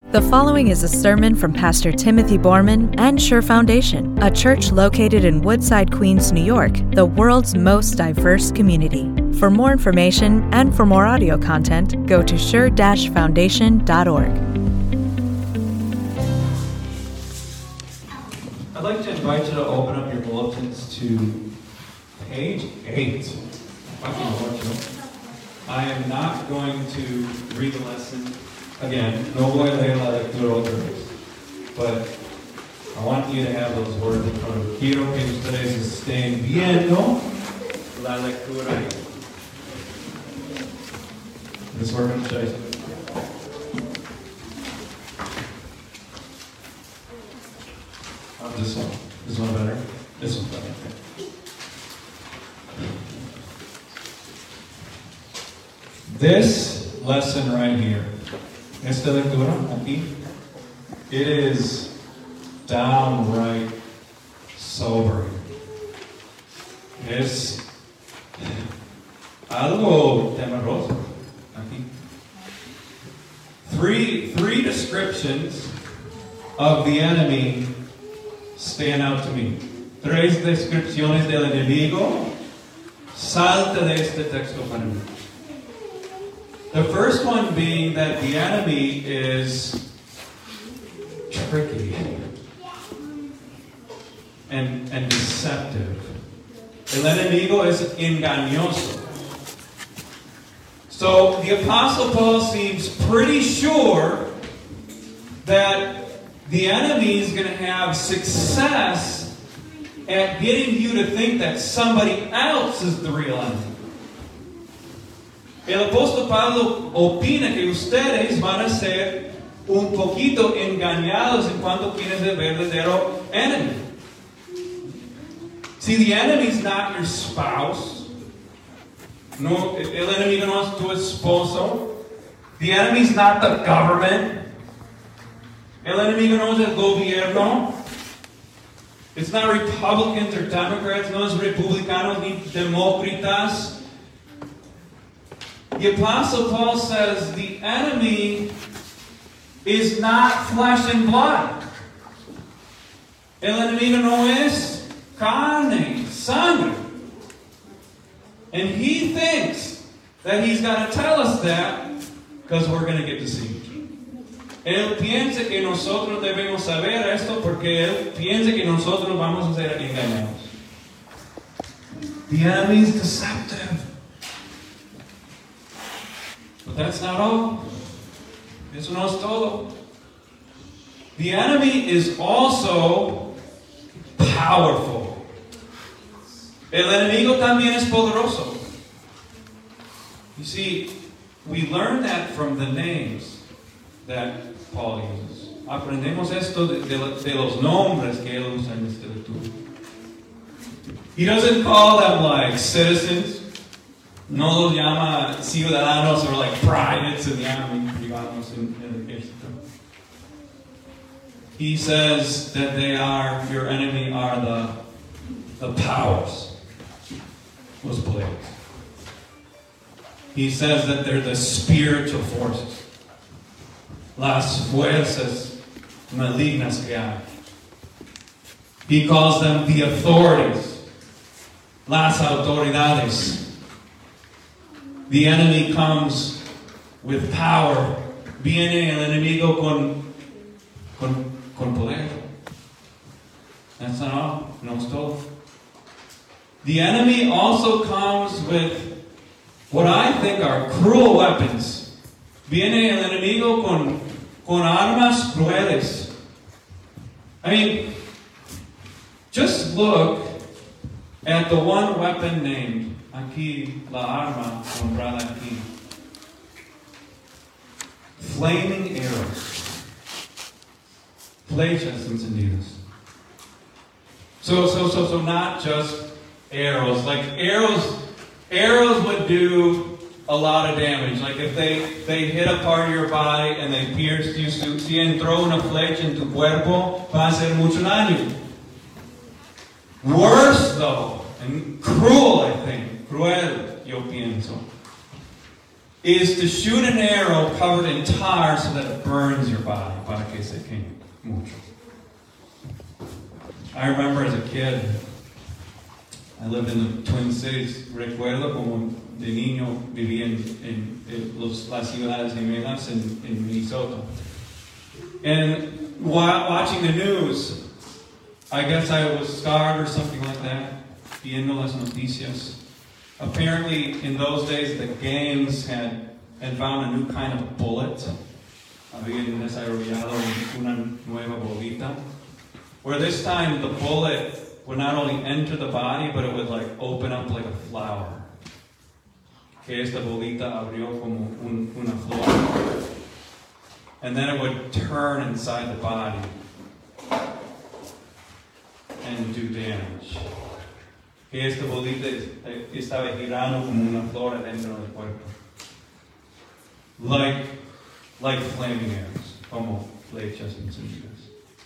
The following is a sermon from Pastor Timothy Borman and Sure Foundation, a church located in Woodside, Queens, New York, the world's most diverse community. For more information and for more audio content, go to sure-foundation.org. I'd like to invite you to open up your bulletins to page 8. I am not going to read the lesson again. No voy a leer la lectura otra vez. But I want you to have those words in front of you. Quiero que ustedes estén viendo la lectura. This working, Chase? This one. This one better? This one's better. Okay. This lesson right here, esta lectura aquí, it is downright sobering. Es algo temeroso aquí. Three descriptions of the enemy stand out to me. Tres descripciones del enemigo salta de este texto para mí. The first one being that the enemy is tricky and deceptive. El enemigo es engañoso. So the Apostle Paul seems pretty sure that the enemy is going to have success at getting you to think that somebody else is the real enemy. El apóstol Pablo opina que ustedes van a ser un poquito engañados en cuanto quién es el verdadero enemy. See, the enemy is not your spouse. No, el enemigo no es tu esposo. The enemy is not the government. El enemigo no es el gobierno. It's not Republicans or Democrats. No es republicanos ni demócratas. The Apostle Paul says the enemy is not flesh and blood. El enemigo no es carne, sangre. And he thinks that he's got to tell us that because we're going to get deceived. Él piensa que nosotros debemos saber esto porque él piensa que nosotros vamos a ser engañados. The enemy is deceptive. But that's not all. Eso no es todo. The enemy is also powerful. El enemigo también es poderoso. You see, we learn that from the names that Paul uses. Aprendemos esto de los nombres que él usa en este lectura. He doesn't call them like citizens. No los llama ciudadanos or like privates in the army, digamos, en el ejército. He says that they are, your enemy are the powers, los poderes. He says that they're the spiritual forces, las fuerzas malignas que hay. He calls them the authorities, las autoridades. The enemy comes with power. Viene el enemigo con poder. That's not all. No es todo. The enemy also comes with what I think are cruel weapons. Viene el enemigo con armas crueles. I mean, just look at the one weapon named. Aquí, la arma nombrada aquí. Flaming arrows. Flechas encendidas. So not just arrows. Like arrows would do a lot of damage. Like if they hit a part of your body and they pierced you, si entró una flecha en tu cuerpo, va a hacer mucho daño. Worse though, and cruel I think, cruel, yo pienso, is to shoot an arrow covered in tar so that it burns your body, para que se queme mucho. I remember as a kid, I lived in the Twin Cities. Recuerdo como de niño vivía en las ciudades gemelas en Minnesota. And watching the news, I guess I was scarred or something like that, viendo las noticias. Apparently, in those days, the gangs had found a new kind of bullet. Habían desarrollado una nueva bolita. Where this time the bullet would not only enter the body, but it would like open up like a flower. Que esta bolita abrió como una flor. And then it would turn inside the body and do damage. Que esta bolita estaba girando como una flor dentro del cuerpo. Like flaming arrows, como flechas encendidas.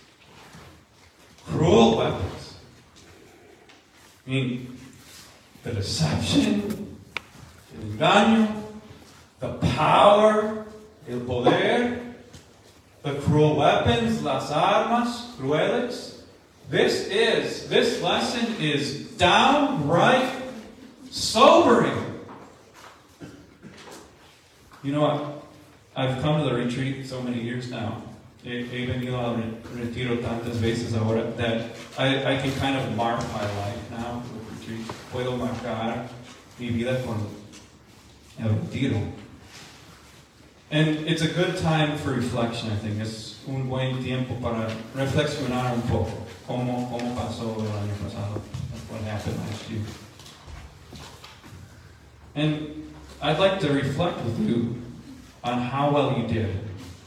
Cruel weapons. I mean, the deception, el engaño, the power, el poder, the cruel weapons, las armas crueles. This lesson is downright sobering. You know what? I've come to the retreat so many years now. He venido al retiro tantas veces ahora that I can kind of mark my life now with retreat. Puedo marcar mi vida con el retiro. And it's a good time for reflection, I think. Es un buen tiempo para reflexionar un poco. Cómo pasó el año pasado. What happened last year. And I'd like to reflect with you on how well you did.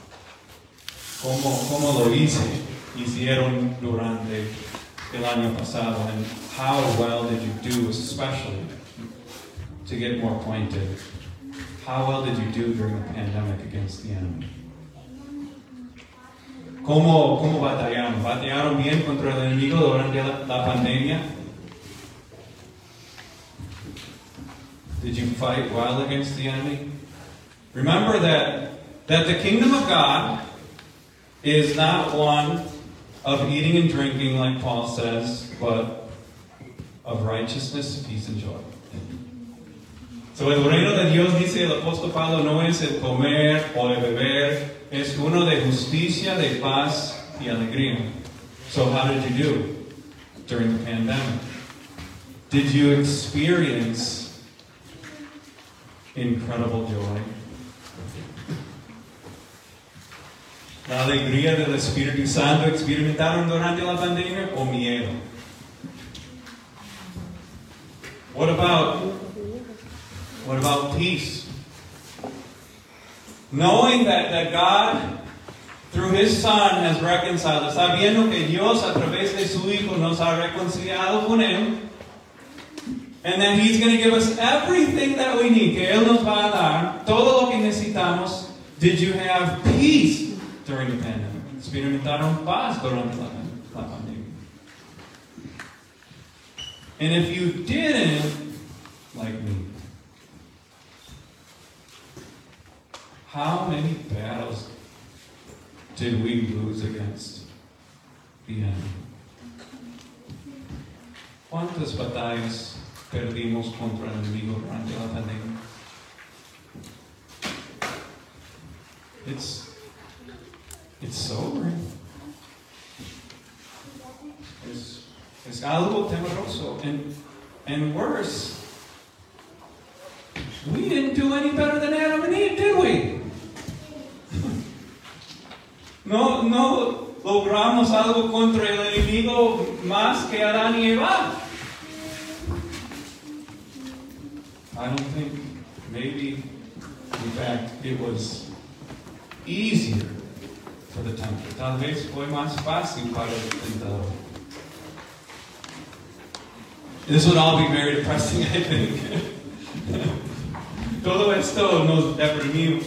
Cómo lo hicieron durante el año pasado, and how well did you do, especially to get more pointed. How well did you do during the pandemic against the enemy? ¿Cómo batallaron? ¿Batallaron bien contra el enemigo durante la pandemia? Did you fight well against the enemy? Remember that the kingdom of God is not one of eating and drinking, like Paul says, but of righteousness, peace, and joy. So el reino de Dios, dice el apóstol Pablo, no es el comer o el beber, es uno de justicia, de paz y alegría. So how did you do during the pandemic? Did you experience incredible joy? La alegría del Espíritu Santo experimentaron durante la pandemia o miedo? What about peace? Knowing that God, through His Son, has reconciled us, sabiendo que Dios a través de su Hijo nos ha reconciliado con Él, and that He's going to give us everything that we need, que Él nos va a dar, todo lo que necesitamos. Did you have peace during the pandemic? Experimentaron paz durante la pandemia. And if you didn't, like me, how many battles did we lose against the enemy? ¿Cuántas batallas perdimos contra el enemigo durante la pandemia? It's sobering. Es algo temeroso. And worse, we didn't do any better than Adam and Eve, did we? No logramos algo contra el enemigo más que Adán y Eva. I don't think, maybe, in fact, it was easier for the tempter. Tal vez fue más fácil para el tentador. This would all be very depressing, I think. Todo esto nos deprimimos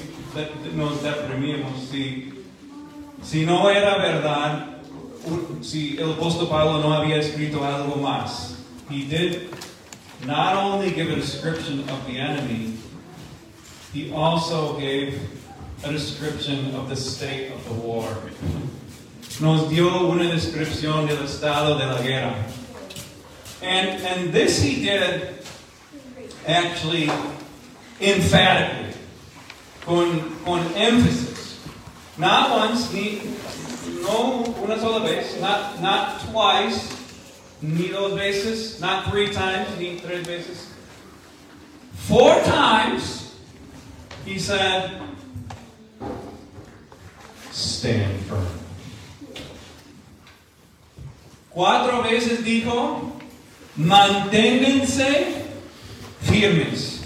si no era verdad, si el apóstol Pablo no había escrito algo más. He did not only give a description of the enemy, he also gave a description of the state of the war. Nos dio una descripción del estado de la guerra. And this he did actually emphatically, con emphasis. Not once, no una sola vez, not twice, ni dos veces, not 3 times, ni 3 veces. 4 times he said, stand firm. 4 veces dijo, manténganse firmes.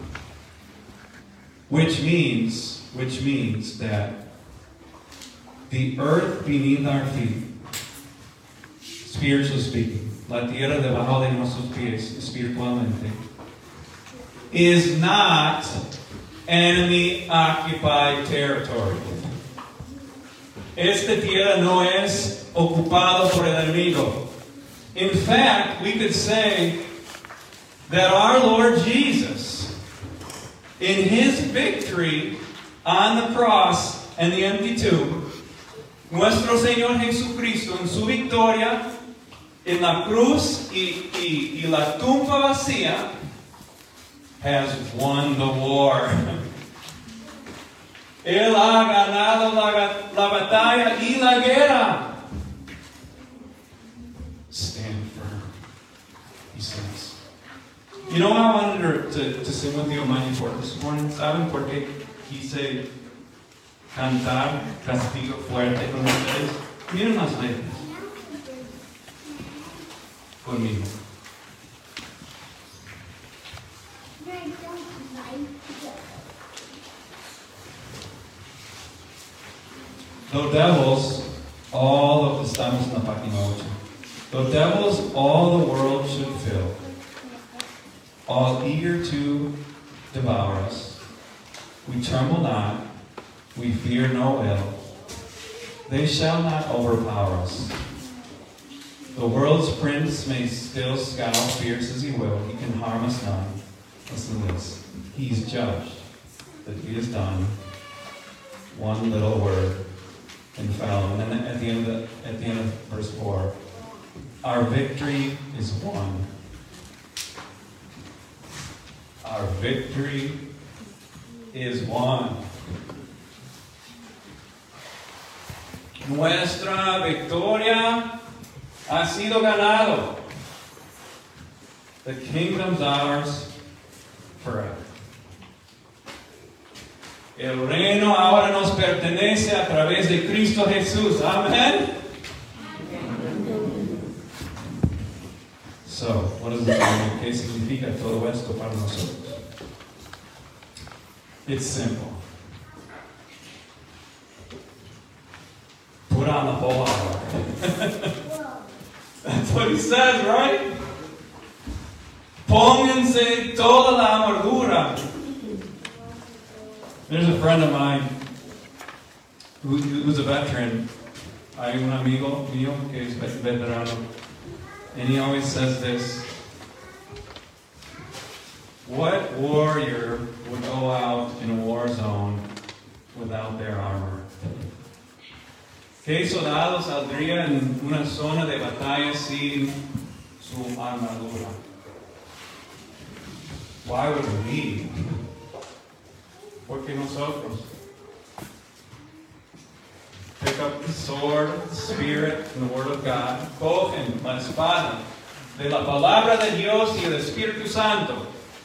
Which means that the earth beneath our feet, spiritually speaking, la tierra debajo de nuestros pies, espiritualmente, is not enemy-occupied territory. Esta tierra no es ocupado por el enemigo. In fact, we could say that our Lord Jesus, in His victory on the cross and the empty tomb, nuestro Señor Jesucristo en su victoria en la cruz y la tumba vacía, has won the war. Él ha ganado la batalla y la guerra. Stand firm, he says. You know what I wanted to sing with you on my report this morning? ¿Saben por qué quise cantar Castigo Fuerte con ustedes? Miren las letras. Conmigo. The devils, estamos en la página 8. The devils all the world should fill, all eager to devour us. We tremble not, we fear no ill. They shall not overpower us. The world's prince may still scowl fierce as he will. He can harm us none. Listen to this. He's judged that he has done one little word and fell. And then at the end of verse 4, our victory is won. Our victory is won. Nuestra victoria ha sido ganado. The kingdom's ours forever. El reino ahora nos pertenece a través de Cristo Jesús. Amén. So, what does it mean? ¿Qué significa todo esto para nosotros? It's simple. Put on the whole armor. That's what he says, right? Pónganse toda la armadura. There's a friend of mine who's a veteran. Hay un amigo mío que es veterano. And he always says this. What warrior would go out in a war zone without their armor? ¿Qué soldado saldría en una zona de batalla sin su armadura? Why would we? Porque nosotros. Pick up the sword, the Spirit, and the Word of God. Cogen la espada de la palabra de Dios y el Espíritu Santo.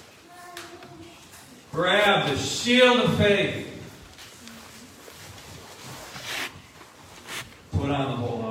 Grab the shield of faith. Put on the whole